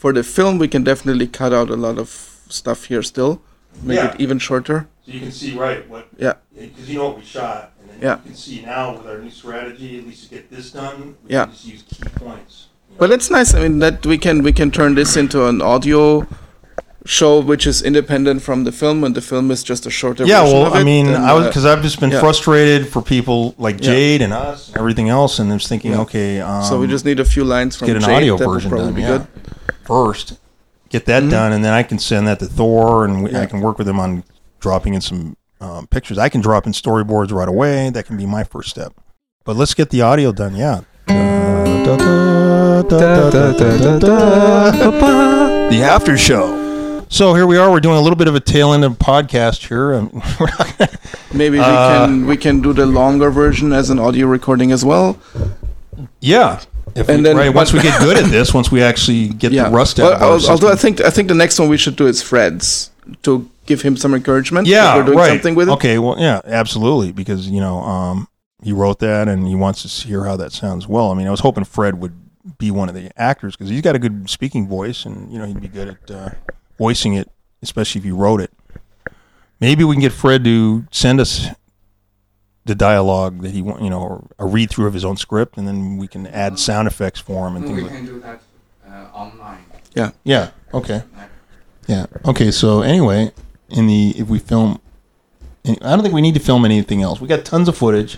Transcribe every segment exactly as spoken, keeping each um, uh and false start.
for the film, we can definitely cut out a lot of stuff here still, make Yeah. it even shorter. So you can see right what. Yeah. Because you know what we shot, and then Yeah. you can see now with our new strategy, at least to get this done. We Yeah. can just use key points. you know. But it's nice. I mean, that we can we can turn this into an audio show which is independent from the film, and the film is just a shorter Yeah, version well, of it. I mean, and, I was uh, because I've just been yeah. frustrated for people like Yeah. Jade and us and everything else, and I was thinking, Yeah. okay, um, so we just need a few lines from get an Jade. audio that would version probably done be yeah. good. first, get that Mhm. done, and then I can send that to Thor, and we, Yeah. I can work with him on dropping in some um, pictures. I can drop in storyboards right away. That can be my first step. But let's get the audio done. Yeah. Da, da, da, da, da, da, da, da. The after show. So here we are. We're doing a little bit of a tail end of podcast here. Um, we're not gonna- Maybe we Uh, can we can do the longer version as an audio recording as well. yeah. If And we, then- right, once we but- get good at this, once we actually get Yeah. the rust Well, out of our al- although I system. think I think the next one we should do is Fred's to give him some encouragement. Yeah, that we're doing right. something with it. Okay, well, yeah, absolutely, because you know um, he wrote that and he wants to hear how that sounds. Well, I mean, I was hoping Fred would be one of the actors because he's got a good speaking voice, and you know he'd be good at uh, voicing it, especially if he wrote it. Maybe we can get Fred to send us the dialogue that he want, you know, or a read through of his own script, and then we can add sound effects for him and We things like. can do that uh, online. Yeah. Okay. Yeah. Okay. So anyway, in the if we film, I don't think we need to film anything else. We got tons of footage,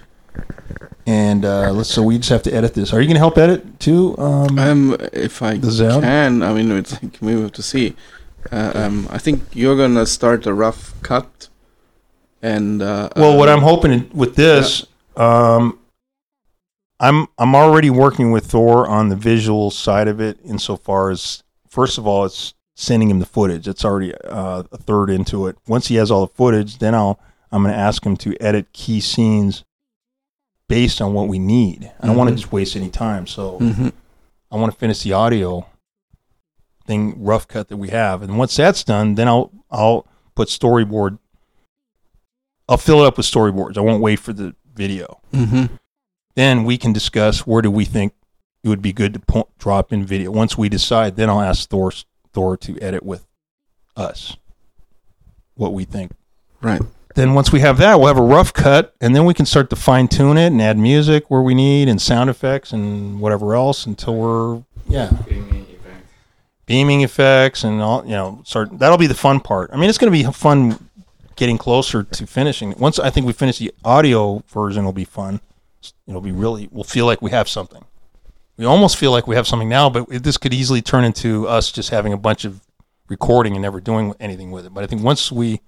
and uh, let's. So we just have to edit this. Are you going to help edit too? Um, Um, if I The sound? can, I mean, it's like we have to see. Uh, um, I think you're gonna start a rough cut, and uh, well, what um, I'm hoping with this, um, I'm I'm already working with Thor on the visual side of it. Insofar as, first of all, it's sending him the footage. It's already uh, a third into it. Once he has all the footage, then I'll I'm going to ask him to edit key scenes based on what we need. I don't want to Mhm. just waste any time. So Mhm. I want to finish the audio thing, rough cut that we have, and once that's done, then I'll I'll put storyboard. I'll fill it up with storyboards. I won't wait for the video. Mhm. Then we can discuss where do we think it would be good to po- drop in video. Once we decide, then I'll ask Thor Thor to edit with us what we think. Right. Then once we have that, we'll have a rough cut, and then we can start to fine tune it and add music where we need and sound effects and whatever else until we're yeah Gaming event. beaming effects and all. You know, start that'll be the fun part. I mean, it's going to be fun getting closer to finishing. Once I think we finish the audio version, it'll be fun. It'll be really. We'll feel like we have something. We almost feel like we have something now, but it, this could easily turn into us just having a bunch of recording and never doing anything with it. But I think once we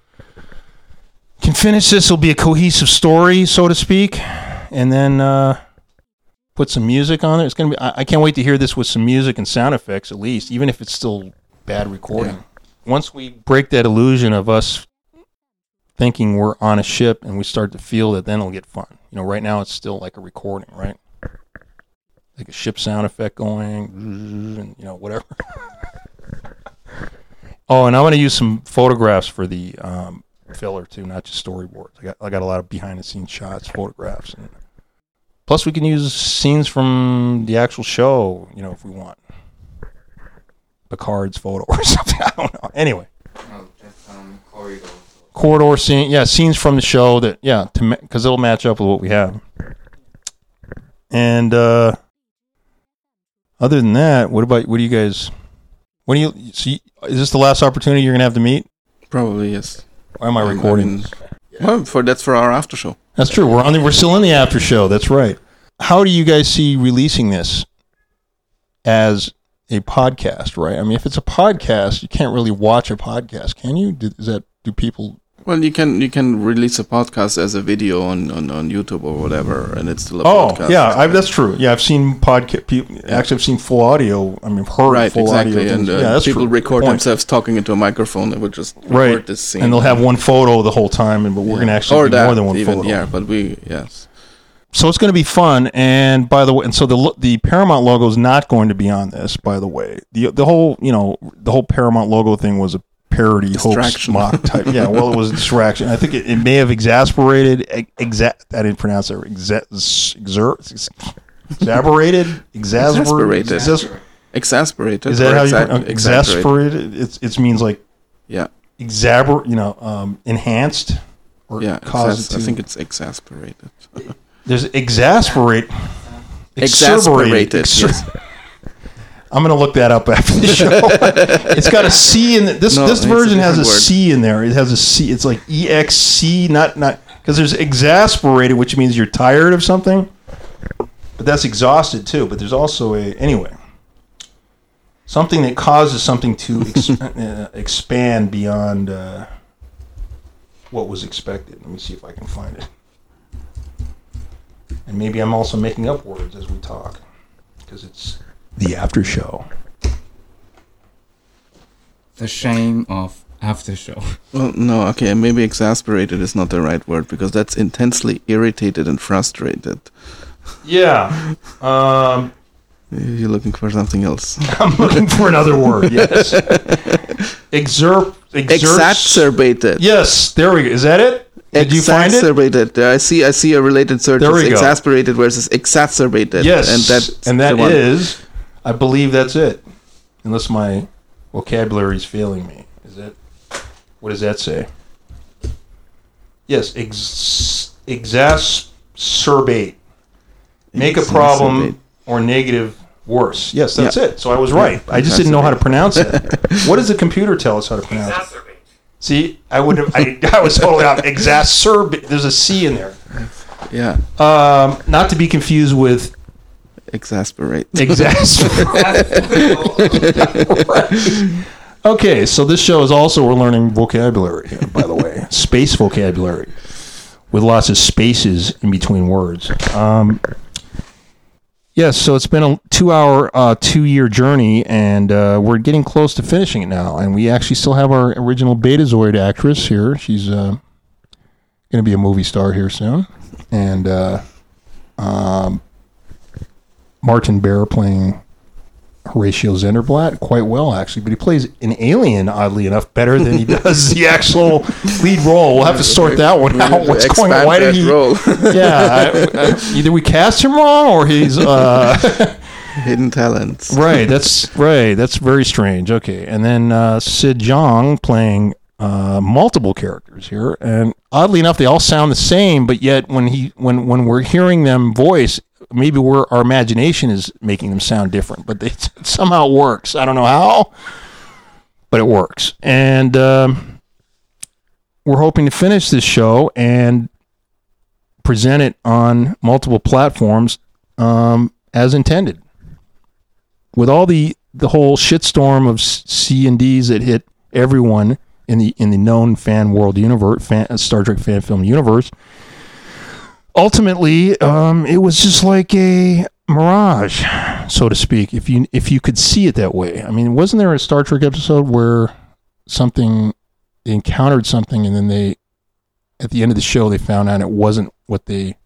can finish this, it'll be a cohesive story, so to speak, and then uh, put some music on it. It's gonna be. I, I can't wait to hear this with some music and sound effects, at least, even if it's still bad recording. Yeah. Once we break that illusion of us thinking we're on a ship and we start to feel that, then it'll get fun. You know, right now it's still like a recording, right? Like a ship sound effect going, and you know, whatever. Oh, and I'm going to use some photographs for the um, filler too, not just storyboards. I got I got a lot of behind the scenes shots, photographs, and plus we can use scenes from the actual show, you know, if we want. Picard's photo or something. I don't know. Anyway, No, just um, corridor. corridor scene, yeah, scenes from the show that, yeah, to because it'll match up with what we have. And uh, other than that, what about what do you guys? What do you see? Is this the last opportunity you're gonna have to meet? Probably yes. Why am I Um, recording? I mean, well, for that's for our after show. That's true. We're on the, we're still in the after show. That's right. How do you guys see releasing this as a podcast? Right. I mean, if it's a podcast, you can't really watch a podcast, can you? Do, is that do people? Well, you can you can release a podcast as a video on, on, on YouTube or whatever, and it's still a Oh, podcast. yeah, I've, that's true. Yeah, I've seen podcast. People actually, I've seen full audio. I mean, heard Right, full exactly. audio. And things. uh, yeah, that's people true. record Point. themselves talking into a microphone. They would just record Right, this scene. and they'll have one photo the whole time, and but we're Yeah. gonna actually or do that more than one even, photo. Yeah, but we yes. So it's going to be fun. And by the way, and so the lo- the Paramount logo is not going to be on this. By the way, the the whole you know the whole Paramount logo thing was a parody hoax Distraction. mock type. Yeah, well, it was a distraction. I think it, it may have exasperated. Ex- exa- I didn't pronounce it. Exa- exert. Exasperated. Exasperated. Exasperated. Exas- Exasperated. Is that or how you exa- uh, exasperated? It's it means like Yeah. exaber, you know, um, enhanced or Yeah. cause Exas- it to. I think it's exasperated. There's exasperate. Exasperated. Exer- Yes. I'm gonna look that up after the show. It's got a C in the, this. No, this it's a version has a different word. C in there. It has a C. It's like E X C, not not because there's exasperated, which means you're tired of something, but that's exhausted too. But there's also a anyway something that causes something to ex- uh, expand beyond uh, what was expected. Let me see if I can find it. And maybe I'm also making up words as we talk because it's the after show. The shame of after show. Well, no, okay, maybe exasperated is not the right word because that's intensely irritated and frustrated. Yeah. Um, You're looking for something else. I'm looking for another word. Yes. Exerp. Exerts. Exacerbated. Yes. There we go. Is that it? Did you find it? Exacerbated. I see. I see a related search. There we It's go. exasperated versus exacerbated. Yes. and that's and that the one. is, I believe that's it. Unless my vocabulary is failing me. Is that? What does that say? Yes. Ex- exacerbate. Make a problem Exacerbate. or negative worse. Yes, that's Yeah. it. So I was right. I just didn't know how to pronounce it. What does the computer tell us how to pronounce it? Exacerbate. See, I would have. I, I was totally off. Exacerbate. There's a C in there. Yeah, Um, not to be confused with exasperate. exasperate. Okay, so this show is also we're learning vocabulary here, by the way, space vocabulary with lots of spaces in between words. Um, yes, so it's been a two-hour, uh, two-year journey, and uh, we're getting close to finishing it now. And we actually still have our original Betazoid actress here. She's uh, going to be a movie star here soon, and uh, um, Martin Bear playing Horatio Zenderblatt quite well, actually, but he plays an alien, oddly enough, better than he does the actual lead role. We'll have to sort that one out. What's going on? Expand Why did that he? role. Yeah, I, I, either we cast him wrong or he's uh, Hidden talents. right. That's right. That's very strange. Okay, and then uh, Sid Jong playing uh, multiple characters here, and oddly enough, they all sound the same, but yet when he when when we're hearing them voice. Maybe we're, our imagination is making them sound different, but they, it somehow works. I don't know how, but it works. And um, we're hoping to finish this show and present it on multiple platforms um, as intended. With all the, the whole shitstorm of C and Ds that hit everyone in the in the known fan world universe, fan, Star Trek fan film universe, ultimately, um, it was just like a mirage, so to speak, if you if you could see it that way. I mean, wasn't there a Star Trek episode where something, they encountered something and then they, at the end of the show, they found out it wasn't what they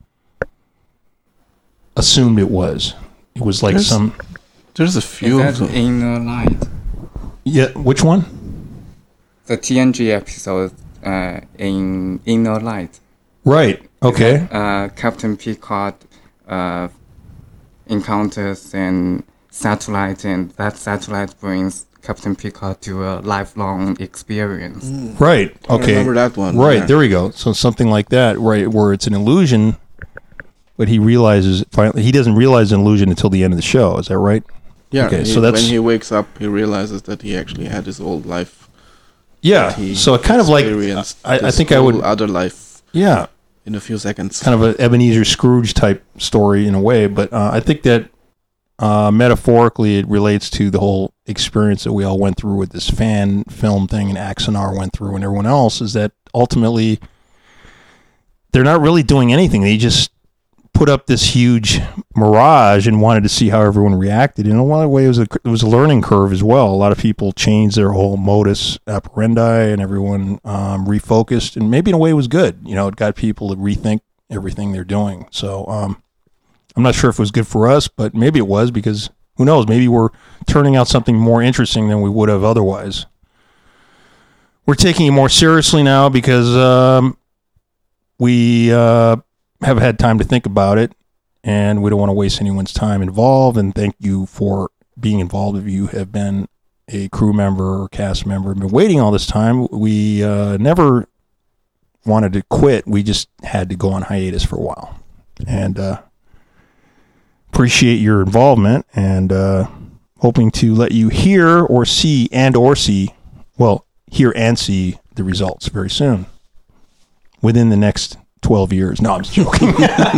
assumed it was. It was like There's- some... There's a few Is of that them. Inner Light? Yeah, which one? The T N G episode uh, in Inner Light. Right, okay. Uh, Captain Picard uh, encounters an satellite, and that satellite brings Captain Picard to a lifelong experience. Right, I okay. remember that one. Right, yeah. there we go. So something like that, right, where it's an illusion, but he realizes, finally, he doesn't realize an illusion until the end of the show. Is that right? Yeah, Okay, he- so that's- when he wakes up, he realizes that he actually had his old life. Yeah. He So it kind of like, experienced I, I this think I would, whole other life yeah, in a few seconds. kind of an Ebenezer Scrooge type story in a way, but uh, I think that uh, metaphorically it relates to the whole experience that we all went through with this fan film thing and Axonar went through and everyone else, is that ultimately they're not really doing anything. They just put up this huge mirage and wanted to see how everyone reacted. In a lot of ways, it was a, it was a learning curve as well. A lot of people changed their whole modus operandi and everyone um, refocused, and maybe in a way it was good. You know, it got people to rethink everything they're doing. So um, I'm not sure if it was good for us, but maybe it was, because who knows? Maybe we're turning out something more interesting than we would have otherwise. We're taking it more seriously now because um, we uh, have had time to think about it, and we don't want to waste anyone's time involved. And thank you for being involved, if you have been a crew member or cast member and been waiting all this time, we uh, never wanted to quit. We just had to go on hiatus for a while. And uh, appreciate your involvement, and uh, hoping to let you hear or see and or see, well, hear and see the results very soon, within the next twelve years. No, I'm just joking.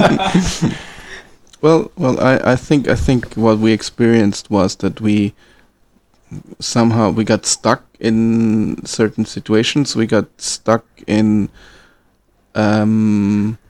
Well, well, I, I think I think what we experienced was that we somehow we got stuck in certain situations. We got stuck in um,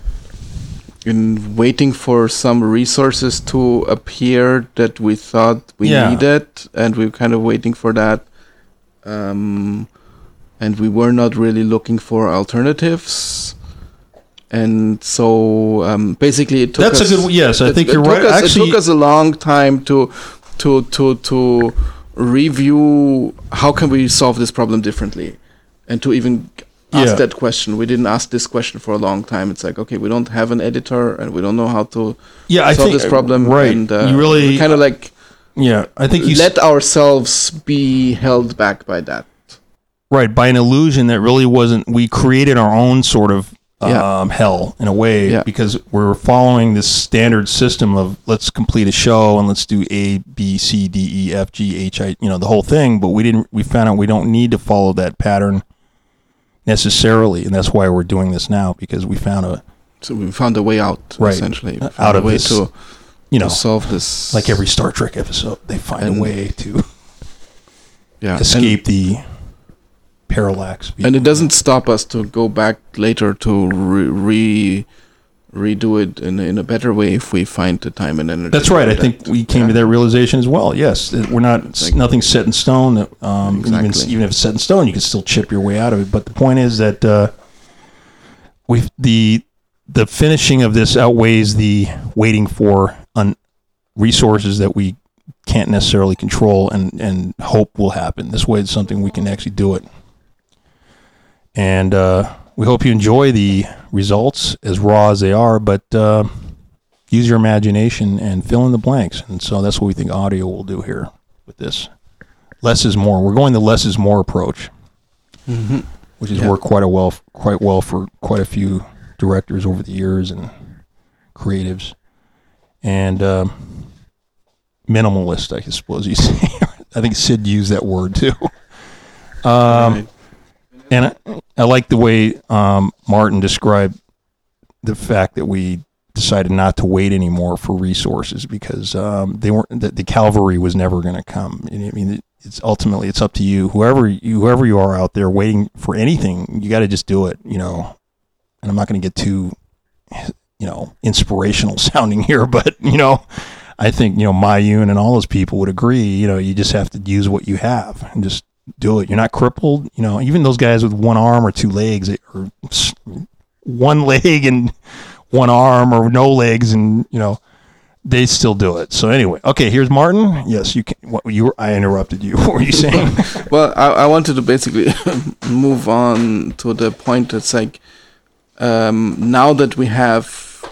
in waiting for some resources to appear that we thought we Yeah. needed, and we were kind of waiting for that. Um, and we were not really looking for alternatives. And so um, basically, it took That's us, a good. Yes, I it- think it you're took right. us- Actually, it took us a long time to to to to review how can we solve this problem differently, and to even ask Yeah. that question. We didn't ask this question for a long time. It's like, okay, we don't have an editor, and we don't know how to yeah, I solve think this problem. Right, And, uh, you really kind of like Yeah, I think you let ourselves be held back by that. right by an illusion that really wasn't. We created our own sort of Yeah. um, hell in a way, Yeah. because we're following this standard system of let's complete a show and let's do A, B, C, D, E, F, G, H, I, you know, the whole thing. But we didn't. We found out we don't need to follow that pattern necessarily, and that's why we're doing this now, because we found a So we found a way out, Right. essentially. We Uh, found out a of way this, to, you to know, solve this. like every Star Trek episode, they find And- a way to yeah. escape the parallax. And, and it doesn't stop us to go back later to re, re redo it in, in a better way if we find the time and energy. That's to right. do I think that. we came Yeah. to that realization as well. Yes, that we're not It's like- nothing's set in stone. Um, even Exactly. even if it's set in stone, you can still chip your way out of it. But the point is that uh, we the the finishing of this outweighs the waiting for un- resources that we can't necessarily control and and hope will happen. This way, it's something we can actually do it. And uh, we hope you enjoy the results, as raw as they are, but uh, use your imagination and fill in the blanks. And so that's what we think audio will do here with this. Less is more. We're going the less is more approach, Mhm. which has Yeah. worked quite a well, quite well for quite a few directors over the years and creatives. And um, minimalist, I suppose you say. I think Sid used that word too. Um, Right. And I, I like the way um, Martin described the fact that we decided not to wait anymore for resources, because um, they weren't. The, the cavalry was never going to come. I mean, it, it's ultimately it's up to you, whoever you, whoever you are out there waiting for anything. You got to just do it, you know. And I'm not going to get too, you know, inspirational sounding here, but you know, I think you know Mayun and all those people would agree. You know, you just have to use what you have and just do it. You're not crippled, you know. Even those guys with one arm or two legs, or s- one leg and one arm, or no legs, and you know, they still do it. So anyway, okay, here's Martin. Yes, you can. What you were? I interrupted you. What were you saying? Well, I, I wanted to basically move on to the point that's like, um, now that we have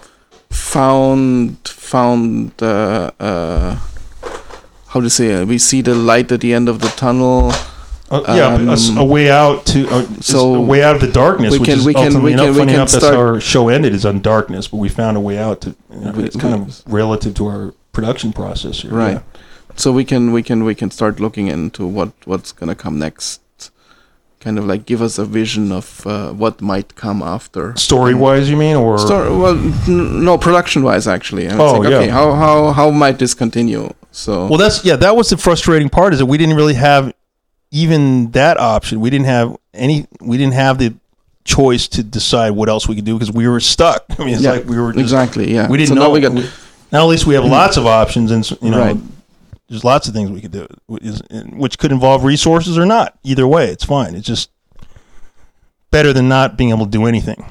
found found uh, uh, how to say it, we see the light at the end of the tunnel. Uh, yeah, a s- Um, a, way out to uh, so so a way out of the darkness. we which can- is we can- ultimately we enough, can- we funny can enough, that's start- how our show ended, is on darkness. But we found a way out to. You know, We- it's kind we- of relative to our production process here. Right. Yeah. So we can we can we can start looking into what what's gonna come next. Kind of like give us a vision of uh, what might come after. Story wise, you mean, or Story, well, n- no, production wise actually. And it's Oh, like, yeah. okay, how how how might this continue? So well, that's yeah. That was the frustrating part, is that we didn't really have even that option. We didn't have any. We didn't have the choice to decide what else we could do, because we were stuck. I mean, it's yeah, like we were just, exactly yeah. We didn't so know. Now we got we- now at least we have lots of options, and you know, Right. there's lots of things we could do, which could involve resources or not. Either way, it's fine. It's just better than not being able to do anything.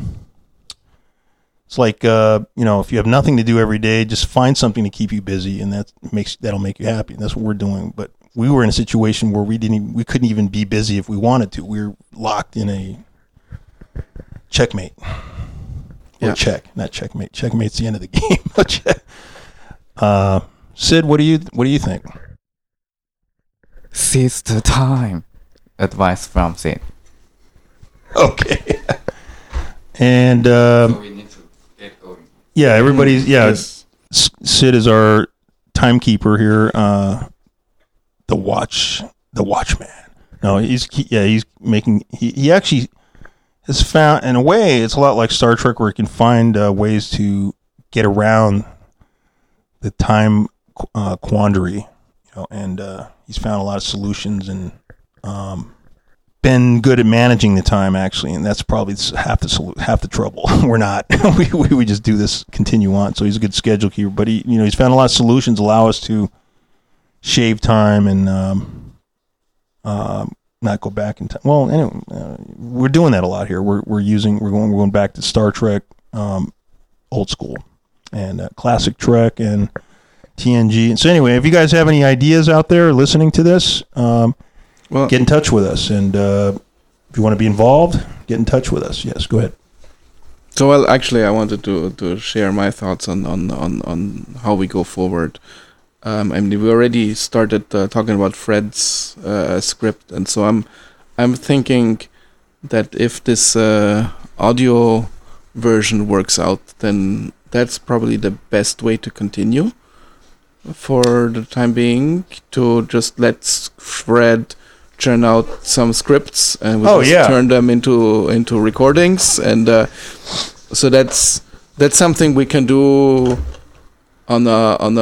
It's like uh, you know, if you have nothing to do every day, just find something to keep you busy, and that makes that'll make you happy. And that's what we're doing. But we were in a situation where we didn't, even, we couldn't even be busy if we wanted to. We were locked in a checkmate. Or Yeah. check, not checkmate. Checkmate's the end of the game. uh, Sid, what do you what do you think? seize the time. Advice from Sid. Okay. And um, So we need to get going. yeah, everybody's yeah. Yes. S- Sid is our timekeeper here. Uh, the watch, the watchman. No, he's he, yeah, he's making. He, he actually has found, in a way, it's a lot like Star Trek, where he can find uh, ways to get around the time uh, quandary. You know, and uh, he's found a lot of solutions and um, been good at managing the time, actually, and that's probably half the solu- half the trouble. We're not. we, we we just do this, continue on. So he's a good schedule keeper, but he you know he's found a lot of solutions allow us to shave time and um, uh, not go back in time. Well, anyway, uh, we're doing that a lot here. We're we're using we're going we're going back to Star Trek, um, old school, and uh, classic Trek and T N G. And so anyway, if you guys have any ideas out there listening to this. Um, Well, Get in touch with us, and uh, if you want to be involved, get in touch with us. Yes, go ahead. So, well, actually, I wanted to, to share my thoughts on, on, on, on how we go forward. Um, I mean, we already started uh, talking about Fred's uh, script, and so I'm I'm thinking that if this uh, audio version works out, then that's probably the best way to continue for the time being, to just let Fred churn out some scripts and we Oh, just yeah. turn them into into recordings, and uh, so that's that's something we can do on a on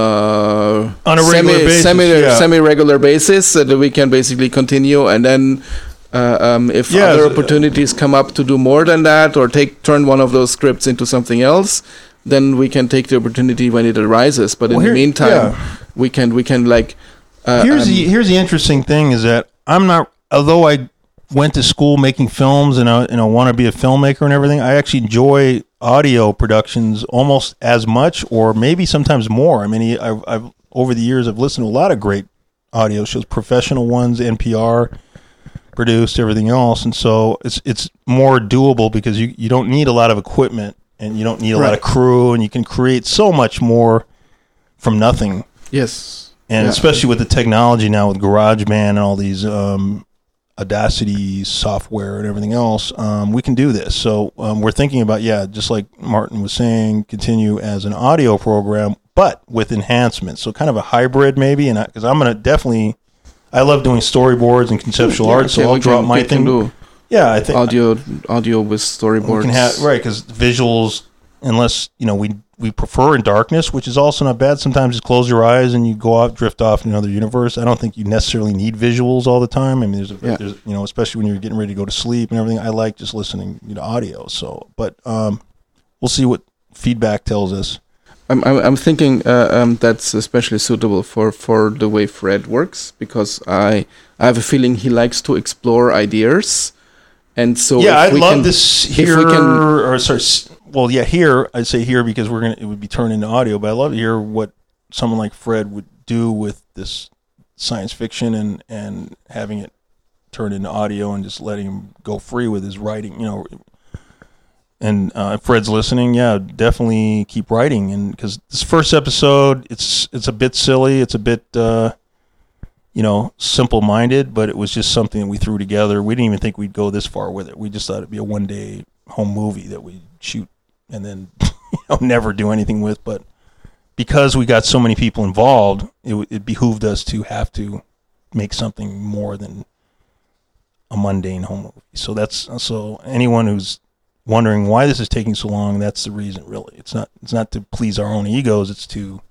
a On a regular semi basis, semi yeah. semi regular basis, so that we can basically continue, and then uh, um, if Yeah, other so- opportunities come up to do more than that, or take turn one of those scripts into something else, then we can take the opportunity when it arises. But Well, in here- the meantime, yeah. we can we can like. Uh, Here's um, the here's the interesting thing is that I'm not. Although I went to school making films and I, and I want to be a filmmaker and everything, I actually enjoy audio productions almost as much, or maybe sometimes more. I mean, I've, I've over the years I've listened to a lot of great audio shows, professional ones, N P R produced, everything else, and so it's it's more doable because you you don't need a lot of equipment and you don't need a lot Right. of crew, and you can create so much more from nothing. yes. And Yeah. especially with the technology now with GarageBand and all these um, Audacity software and everything else, um, we can do this. So um, we're thinking about, yeah, just like Martin was saying, continue as an audio program, but with enhancements. So kind of a hybrid maybe. And because I'm going to definitely, I love doing storyboards and conceptual Yeah, art, so okay, I'll we drop can- my we can thing. do Yeah, I think audio audio with storyboards. we can have right because visuals, unless you know we we prefer in darkness, which is also not bad. Sometimes just close your eyes and you go off, drift off in another universe. I don't think you necessarily need visuals all the time. I mean, there's, a, Yeah. there's you know, especially when you're getting ready to go to sleep and everything. I like just listening you know, audio. So, but um, we'll see what feedback tells us. I'm I'm, I'm thinking uh, um, that's especially suitable for, for the way Fred works, because I I have a feeling he likes to explore ideas, and so yeah, if I'd we love can, this if here, we can- or sorry, s- well, yeah, here I'd say here because we're gonna it would be turned into audio, but I'd love to hear what someone like Fred would do with this science fiction and and having it turned into audio and just letting him go free with his writing, you know. And uh, if Fred's listening, yeah, definitely keep writing, and because this first episode, it's it's a bit silly, it's a bit. Uh, you know, simple-minded, but it was just something that we threw together. We didn't even think we'd go this far with it. We just thought it'd be a one-day home movie that we shoot and then you know, never do anything with. But because we got so many people involved, it, it behooved us to have to make something more than a mundane home movie. So that's so anyone who's wondering why this is taking so long, that's the reason. Really, it's not it's not to please our own egos. It's to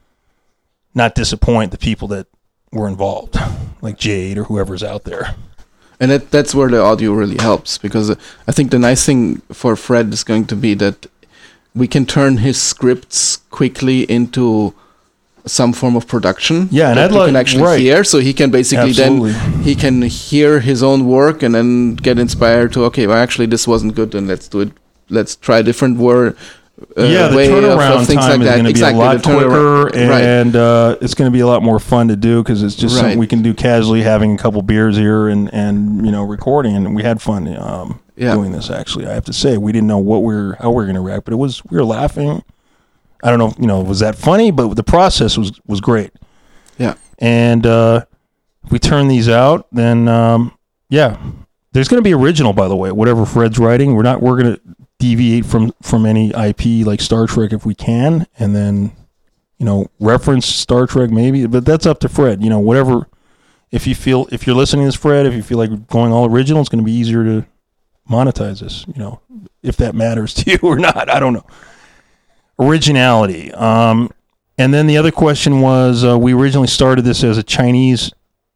not disappoint the people that were involved, like Jade or whoever's out there. And that that's where the audio really helps, because uh, I think the nice thing for Fred is going to be that we can turn his scripts quickly into some form of production. Yeah, and that I'd we like- can actually right. hear, so he can basically Absolutely. then he can hear his own work and then get inspired to, okay, well, actually this wasn't good, and let's do it. Let's try a different word. Uh, yeah, the way of- of turnaround things time like is that. going to be Exactly, a lot the turnaround- quicker, right. and uh, it's going to be a lot more fun to do because it's just something Right. we can do casually, having a couple beers here and, and you know recording, and we had fun um, Yeah. doing this. Actually, I have to say we didn't know what we were how we were going to react, but it was we were laughing. I don't know, you know, was that funny? But the process was was great. Yeah. And uh, if we turn these out, then um, yeah, there's going to be original. By the way, whatever Fred's writing, we're not. We're going to deviate from from any I P like Star Trek if we can, and then you know reference Star Trek maybe, but that's up to Fred. You know, whatever. If you feel if you're listening to this, Fred, if you feel like going all original, it's going to be easier to monetize this. You know, if that matters to you or not, I don't know. Originality. Um, and then the other question was, uh, we originally started this as a Chinese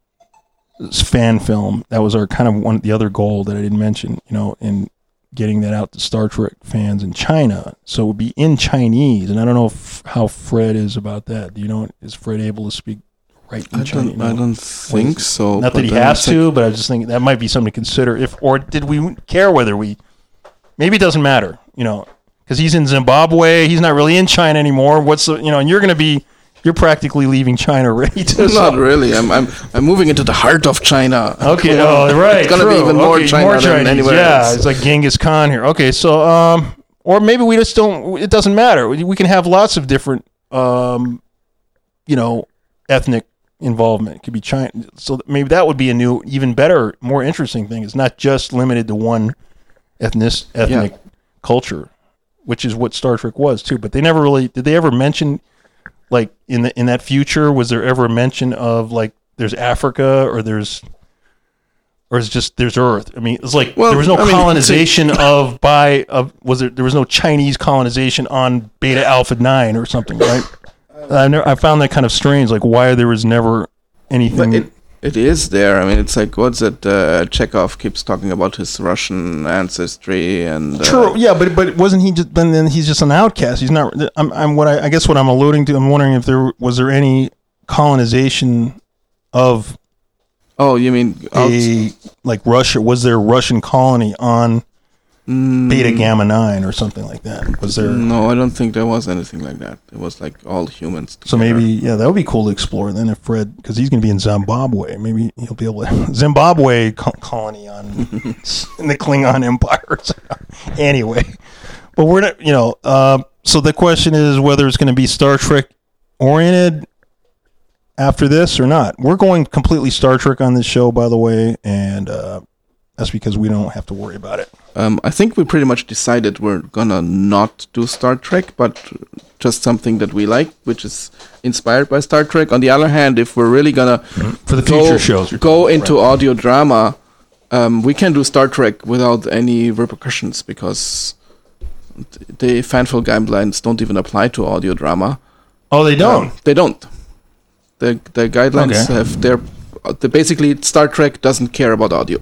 fan film. That was our kind of one, the other goal that I didn't mention, you know, in getting that out to Star Trek fans in China. So it would be in Chinese. And I don't know if, how Fred is about that. Do you know, is Fred able to speak right in I Chinese? don't, You know? I don't think so. Not that but he then has it's like- to, but I just think that might be something to consider. If or did we care whether we? Maybe it doesn't matter, you know, because he's in Zimbabwe. He's not really in China anymore. What's the, you know, and you're going to be, you're practically leaving China already. Too, so- Not really. I'm, I'm I'm moving into the heart of China. Okay, oh, right. It's gonna be true. even more Okay, China than Chinese. anywhere Yeah, else. it's like Genghis Khan here. Okay, so um, or maybe we just don't. It doesn't matter. We, we can have lots of different, um, you know, ethnic involvement. It could be China. So maybe that would be a new, even better, more interesting thing. It's not just limited to one ethnic ethnic Yeah. culture, which is what Star Trek was too. But they never really did. They ever mention, like in the in that future, was there ever a mention of like there's Africa or there's or it's just there's Earth? I mean, it's like Well, there was no I mean, colonization of by of was there there was no Chinese colonization on Beta Alpha nine or something, right? I never, I found that kind of strange. Like why there was never anything. But it, it is there. I mean, it's like, what's it? Uh, Chekhov keeps talking about his Russian ancestry and... Uh, True, yeah, but but wasn't he just then? Then he's just an outcast. He's not. I'm. I'm. What I, I guess what I'm alluding to. I'm wondering if there was there any colonization of Oh, you mean... out- a like Russia? Was there a Russian colony on Mm, Beta Gamma nine or something like that? Was there? No, I don't think there was anything like that. It was like all humans So together. maybe yeah, that would be cool to explore. Then if Fred, because he's going to be in Zimbabwe, maybe he'll be able to Zimbabwe co- colony on in the Klingon Empire. Anyway, but we're not, you know. Uh, so the question is whether it's going to be Star Trek oriented after this or not. We're going completely Star Trek on this show, by the way, and uh, that's because we don't have to worry about it. Um, I think we pretty much decided we're gonna not do Star Trek, but just something that we like, which is inspired by Star Trek. On the other hand, if we're really gonna For the go, future shows, you're go talking, into right. audio drama, um, we can do Star Trek without any repercussions because th- the fanful guidelines don't even apply to audio drama. Oh, they don't. Um, they don't. The the guidelines Okay. have their. The basically Star Trek doesn't care about audio.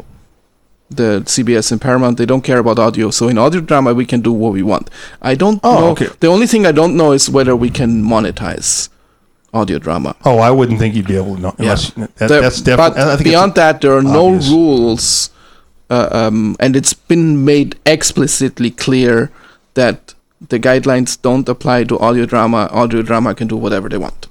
The C B S and Paramount, they don't care about audio. So in audio drama, we can do what we want. I don't Oh, know. okay. The only thing I don't know is whether we can monetize audio drama. Oh, I wouldn't think you'd be able to know. Unless, that, The- that's definitely. I but think beyond that, there are no obvious. rules, uh, um, and it's been made explicitly clear that the guidelines don't apply to audio drama. Audio drama can do whatever they want.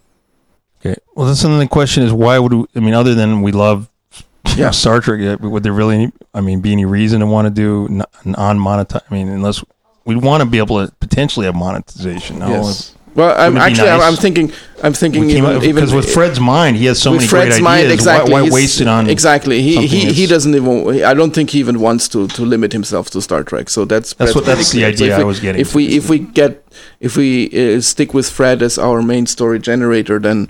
Okay. Well, that's another question is why would we, I mean, other than we love yeah. Star Trek, uh, would there really, any, I mean, be any reason to want to do non monetize? I mean, unless we want to be able to potentially have monetization. No? Yes. Well, I'm would be actually, I'm, nice. I'm thinking, I'm thinking We came even, up- even because with Fred's mind, he has so with many Fred's great mind, ideas. exactly. Why, why he's- waste it on exactly? He something he, he that's- doesn't even. I don't think he even wants to, to limit himself to Star Trek. So that's That's what- pretty that's the clear. idea if I we, was getting If to. we if we get if we uh, stick with Fred as our main story generator, then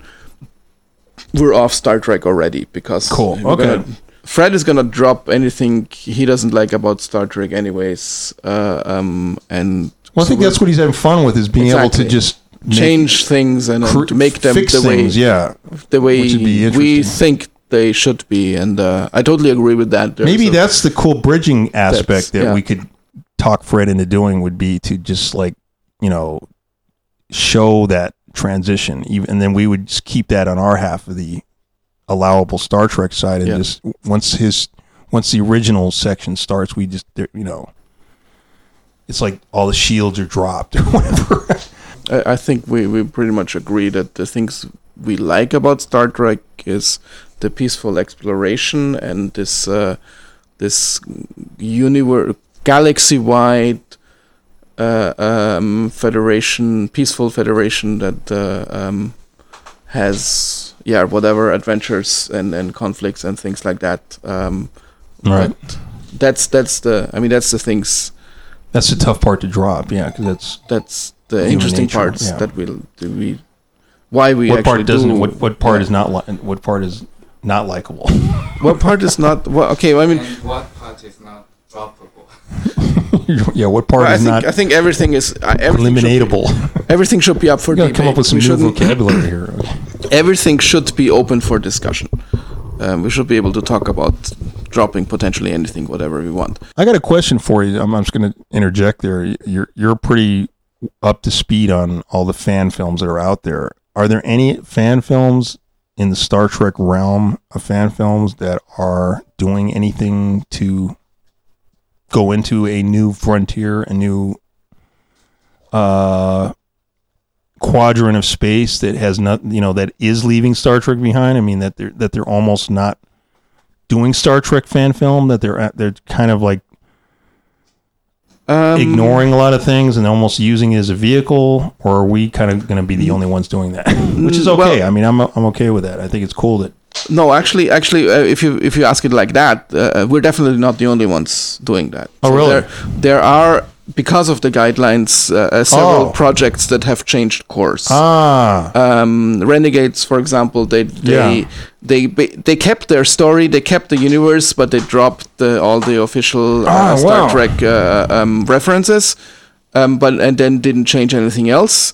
we're off Star Trek already because Cool. we're Okay. gonna- Fred is gonna drop anything he doesn't like about Star Trek, anyways. Uh, um, and Well, I think so that's what he's having fun with is being able to Exactly. just make- change things and, and cr- to make them fix the way things, yeah. the way Which would be we interesting. think they should be, and uh, I totally agree with that. There's Maybe a- that's the cool bridging aspect that yeah. we could talk Fred into doing would be to just like, you know, show that transition, even, and then we would just keep that on our half of the allowable Star Trek side, and Yeah. just once his once the original section starts, we just there- you know, it's like all the shields are dropped or whatever. I, I think we, we pretty much agree that the things we like about Star Trek is the peaceful exploration and this uh, this universe, galaxy-wide uh, um, federation, peaceful federation that uh, um, has yeah, whatever adventures and, and conflicts and things like that. Um, Right. But that's that's the. I mean, that's the things. That's the tough part to drop. Yeah, because that's That's the Human interesting nature, parts yeah. that we'll do. We why we what actually part doesn't. do. What what part yeah. is not. Li- what part is not likable. What part is not? Well, okay, well, I mean, And what part is not droppable? yeah. What part well, I is think not I think everything is uh, everything should be- eliminatable? Everything should be up for You gotta debate. come up with some We new shouldn't- vocabulary here. Everything should be open for discussion. Um, we should be able to talk about dropping potentially anything, whatever we want. I got a question for you. I'm, I'm just going to interject there. You're you're pretty up to speed on all the fan films that are out there. Are there any fan films in the Star Trek realm of fan films that are doing anything to go into a new frontier, a new uh, quadrant of space that has not, you know, that is leaving Star Trek behind? I mean, that they're that they're almost not doing Star Trek fan film, that they're at, they're kind of like Um, ignoring a lot of things and almost using it as a vehicle, or are we kind of going to be the only ones doing that? Which is okay. Well- I mean, I'm I'm okay with that. I think it's cool that No, actually, actually, uh, if you if you ask it like that, uh, we're definitely not the only ones doing that. Oh, really? There, there are, because of the guidelines, uh, uh, several Oh. projects that have changed course. ah um, Renegades, for example, they they Yeah. they ba- they kept their story, they kept the universe, but they dropped the, all the official uh, Ah, Star wow. Trek uh, um, references, um, but and then didn't change anything else.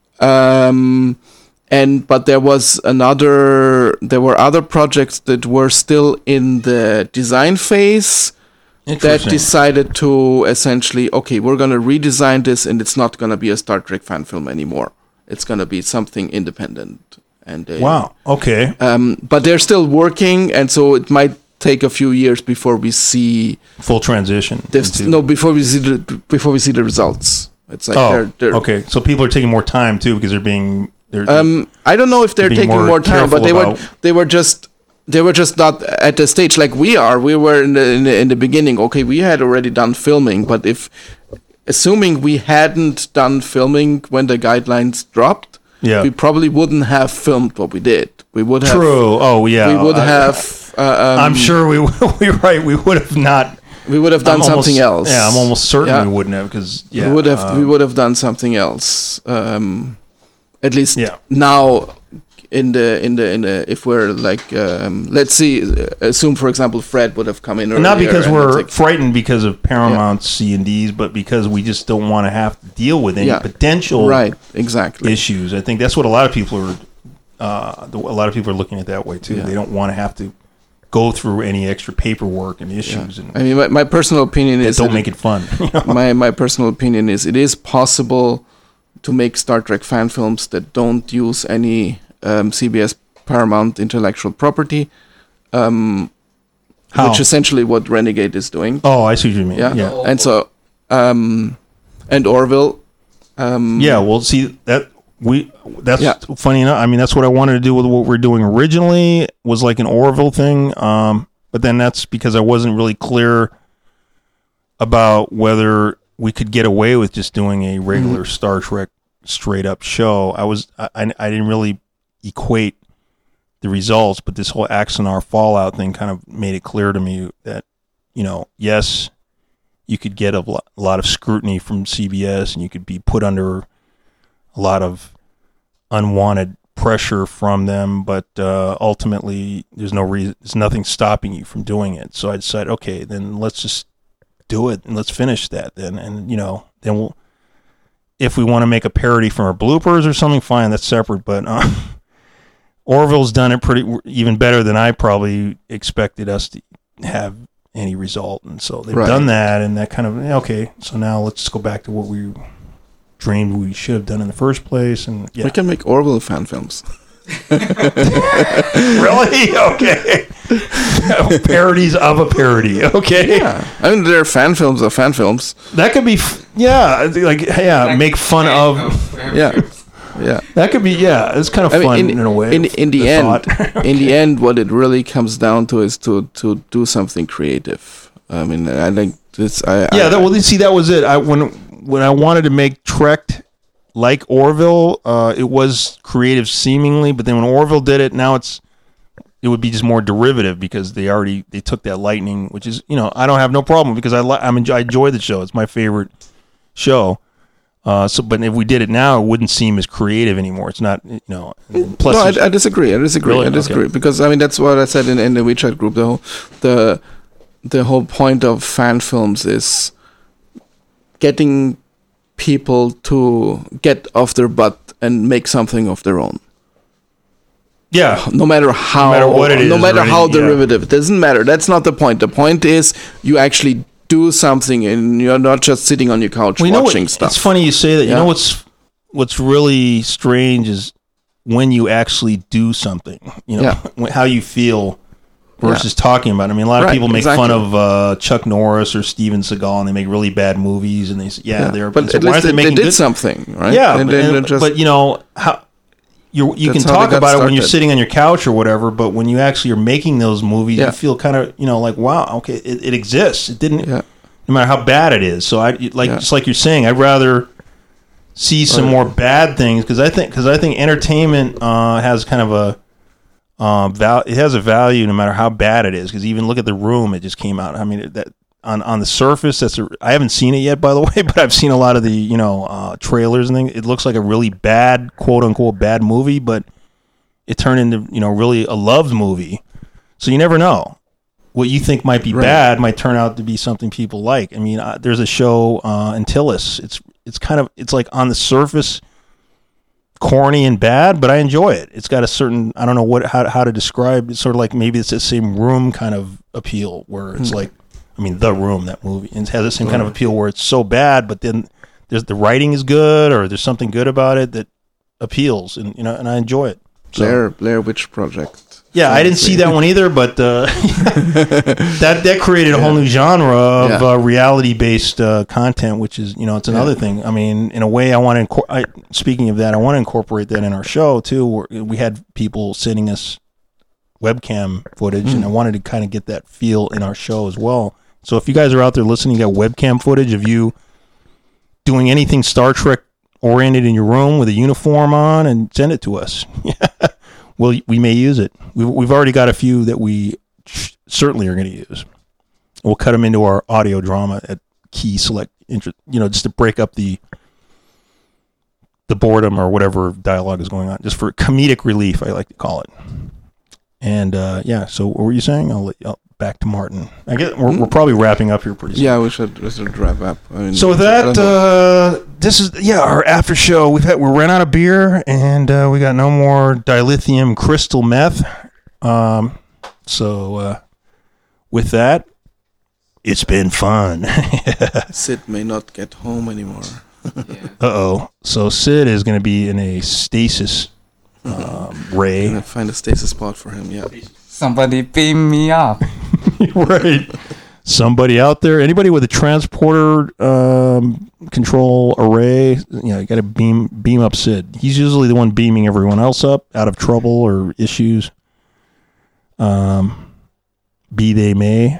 Um, and but there was another, there were other projects that were still in the design phase that interesting. decided to essentially, okay, we're going to redesign this, and it's not going to be a Star Trek fan film anymore. It's going to be something independent. And they, Wow. Okay. um, but they're still working, and so it might take a few years before we see Full transition. this. into- No, before we see the before we see the results. It's like Oh. they're, they're Okay. So people are taking more time too because they're being they're Um, I don't know if they're being taking more more, time, but careful they were about- they were just they were just not at the stage like we are. We were in the in the, in the beginning. Okay, we had already done filming, but if assuming we hadn't done filming when the guidelines dropped, yeah. we probably wouldn't have filmed what we did. We would have. True. Oh yeah. We would I- have. Uh, um, I'm sure we we're right. We would have not we would have done I'm almost- something else. Yeah, I'm almost certain Yeah. we wouldn't have because yeah, we would have. uh, we would have done something else. Um, at least Yeah. now. In the in the in the if we're like um, let's see uh, assume for example Fred would have come in earlier, not because and we're it's like- frightened because of Paramount's C and Ds, but because we just don't want to have to deal with any Yeah. potential right exactly issues. I think that's what a lot of people are. Uh, the, a lot of people are looking at that way too. Yeah. They don't want to have to go through any extra paperwork and yeah. issues, and I mean my, my personal opinion that is don't that make it fun. you know? my my personal opinion is it is possible to make Star Trek fan films that don't use any um, C B S Paramount intellectual property, um, How? which is essentially what Renegade is doing. Oh, I see what you mean. Yeah, Yeah. Oh. and so um, and Orville. Um, Yeah, well, see that we that's Yeah. funny enough. I mean, that's what I wanted to do with what we're doing originally was like an Orville thing. Um, but then that's because I wasn't really clear about whether we could get away with just doing a regular Star Trek straight up show. I was I I, I didn't really equate the results, but this whole Axanar Fallout thing kind of made it clear to me that, you know, yes, you could get a lo- lot of scrutiny from C B S and you could be put under a lot of unwanted pressure from them, but uh, ultimately there's no reason, there's nothing stopping you from doing it. So I decided, okay, then let's just do it and let's finish that then. And, you know, then we'll, if we want to make a parody from our bloopers or something, fine, that's separate. But uh, Orville's done it pretty even better than I probably expected us to have any result, and so they've Right. done that, and that kind of okay. So now let's go back to what we dreamed we should have done in the first place, and yeah, we can make Orville fan films. really okay. Parodies of a parody, okay. Yeah, I mean they're fan films of fan films. That could be, f- yeah, like yeah, make fun of. Yeah, yeah. That could be, yeah. It's kind of I mean, fun in, in, a way. in in the, the end, thought. in the end, what it really comes down to is to to do something creative. I mean, I think this. I Yeah, I, that, well, see, that was it. I when when I wanted to make Trek like Orville, uh, it was creative seemingly, but then when Orville did it, now it's it would be just more derivative because they already they took that lightning, which is you know I don't have no problem because I li- I'm enjoy, I enjoy the show. It's my favorite show. Uh, so, but if we did it now, it wouldn't seem as creative anymore. It's not, you know. Plus, no, I, I disagree. I disagree. Really? I disagree Okay. because I mean that's what I said in, in the WeChat group. The whole the the whole point of fan films is getting people to get off their butt and make something of their own. yeah, No matter how, No matter what it no is matter or how anything, yeah. derivative, it doesn't matter. That's not the point. The point is you actually do something and you're not just sitting on your couch well, you know watching what, stuff. It's funny you say that. You Yeah. know what's what's really strange is when you actually do something. You know Yeah. when- how you feel versus talking about it. I mean, a lot of Right, people make exactly. fun of uh, Chuck Norris or Steven Seagal, and they make really bad movies, and they say, "Yeah, Yeah. they're." But so at why least aren't they, they making did good- something, right? Yeah, and but, then and- just, but you know how you you can That's how they talk got about it when you're started. sitting on your couch or whatever, but when you actually are making those movies, Yeah. you feel kind of you know like wow, okay, it, it exists. It didn't, yeah. no matter how bad it is. So I like Yeah. just like you're saying, I'd rather see some Right. more bad things because I think because I think entertainment uh, has kind of a um, val- it has a value no matter how bad it is. Because even look at The Room, it just came out. I mean that. On, on the surface, that's a, I haven't seen it yet, by the way, but I've seen a lot of the you know uh, trailers and things. It looks like a really bad, quote unquote, bad movie, but it turned into you know really a loved movie. So you never know. What you think might be Right. bad might turn out to be something people like. I mean, uh, there's a show uh, Antilles. It's it's kind of it's like on the surface corny and bad, but I enjoy it. It's got a certain I don't know what how how to describe. It's sort of like maybe it's the same Room kind of appeal where it's Hmm. like. I mean, The Room, that movie, and it has the same kind of appeal where it's so bad, but then there's the writing is good, or there's something good about it that appeals, and you know, and I enjoy it. So, Blair Blair Witch Project. yeah, I didn't see that one either, but uh, that that created a whole new genre of Yeah. uh, reality-based uh, content, which is you know, it's another Yeah. thing. I mean, in a way, I want to. Incor- I, speaking of that, I want to incorporate that in our show too. Where we had people sending us webcam footage, Mm. and I wanted to kind of get that feel in our show as well. So if you guys are out there listening, you got webcam footage of you doing anything Star Trek oriented in your room with a uniform on, and send it to us. well, we may use it. We've, we've already got a few that we sh- certainly are going to use. We'll cut them into our audio drama at key select, inter- you know, just to break up the the boredom or whatever dialogue is going on, just for comedic relief, I like to call it. And uh, yeah, so what were you saying? I'll let you. I'll, back to Martin. I guess we're, we're probably wrapping up here pretty soon. Yeah, we should we should wrap up. I mean, So with I that, don't know. uh, this is yeah our after show. We've had we ran out of beer and uh, we got no more dilithium crystal meth. Um, so uh, with that, it's been fun. Sid may not get home anymore. Uh oh. So Sid is going to be in a stasis um, ray. Gonna find a stasis spot for him. Yeah. Somebody beam me up. Right. Somebody out there, anybody with a transporter um, control array, you know, you got to beam beam up Sid. He's usually the one beaming everyone else up out of trouble or issues. Um, be they may.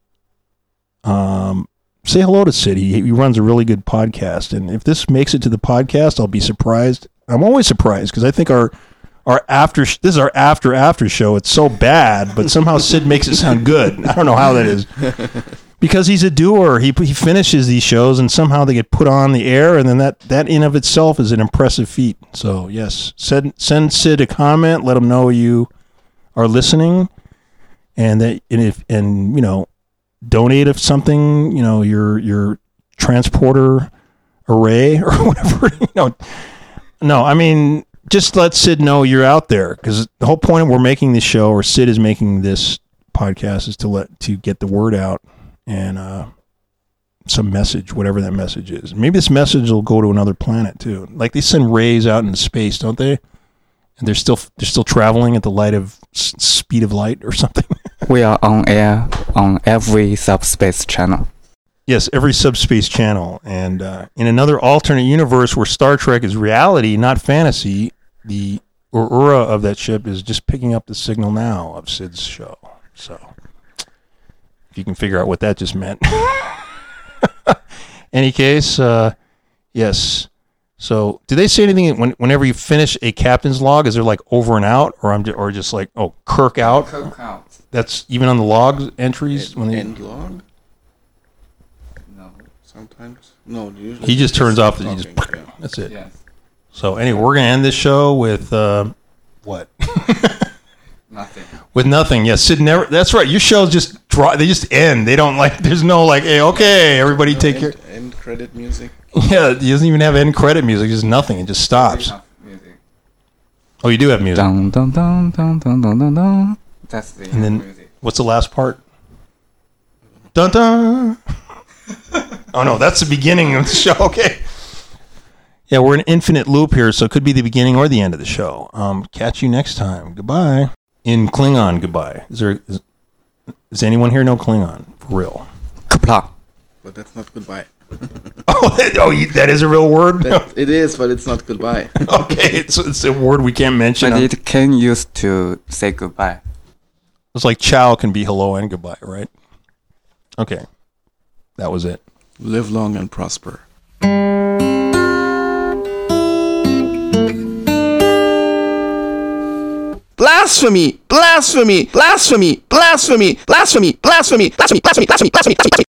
Um, say hello to Sid. He, he runs a really good podcast, and if this makes it to the podcast, I'll be surprised. I'm always surprised because I think our our after sh- this is our after after show. It's so bad, but somehow Sid makes it sound good. I don't know how that is. Because he's a doer. He he finishes these shows and somehow they get put on the air, and then that, that in of itself is an impressive feat. So yes, send send Sid a comment, let him know you are listening, and that and if and you know, donate if something, you know, your your transporter array or whatever, you know. No, I mean, just let Sid know you're out there, because the whole point of we're making this show, or Sid is making this podcast, is to let to get the word out and uh, some message, whatever that message is. Maybe this message will go to another planet too. Like they send rays out into space, don't they? And they're still they're still traveling at the light of s- speed of light or something. We are on air on every subspace channel. Yes, every subspace channel. And uh, in another alternate universe where Star Trek is reality, not fantasy, the Uhura of that ship is just picking up the signal now of Sid's show. So, if you can figure out what that just meant. Any case, uh, yes, So, do they say anything when, whenever you finish a captain's log? Is there like over and out, or I'm just, or just like oh Kirk out? Kirk out. That's even on the log entries when they End log. No. Sometimes no. Usually he just turns off. The, he talking, just yeah. that's it. Yes. So anyway, we're gonna end this show with uh, what? Nothing. With nothing. Yes, Sid never. That's right. Your shows just draw. They just end. They don't like. There's no like. Hey, okay, everybody, No take end, care. End credit music. Yeah, he doesn't even have end credit music. Just nothing. It just stops. We have music. Oh, you do have music. Dun, dun, dun, dun, dun, dun, dun, dun. That's the And then music. what's the last part? Dun dun. Oh no, that's the beginning of the show. Okay. Yeah, we're in an infinite loop here, so it could be the beginning or the end of the show. Um, catch you next time. Goodbye. In Klingon, goodbye. Is there? Is, does anyone here know Klingon for real? Kapla. But that's not goodbye. Oh, that, oh, you- that is a real word. That, it is, but it's not goodbye. Okay, it's, it's a word we can't mention. But Um, it can use to say goodbye. It's like ciao can be hello and goodbye, right? Okay, that was it. Live long and prosper. Blasphemy! Blasphemy! Blasphemy! Blasphemy! Blasphemy! Blasphemy! Blasphemy! Blasphemy! Blasphemy! Blasphemy! Blasphemy!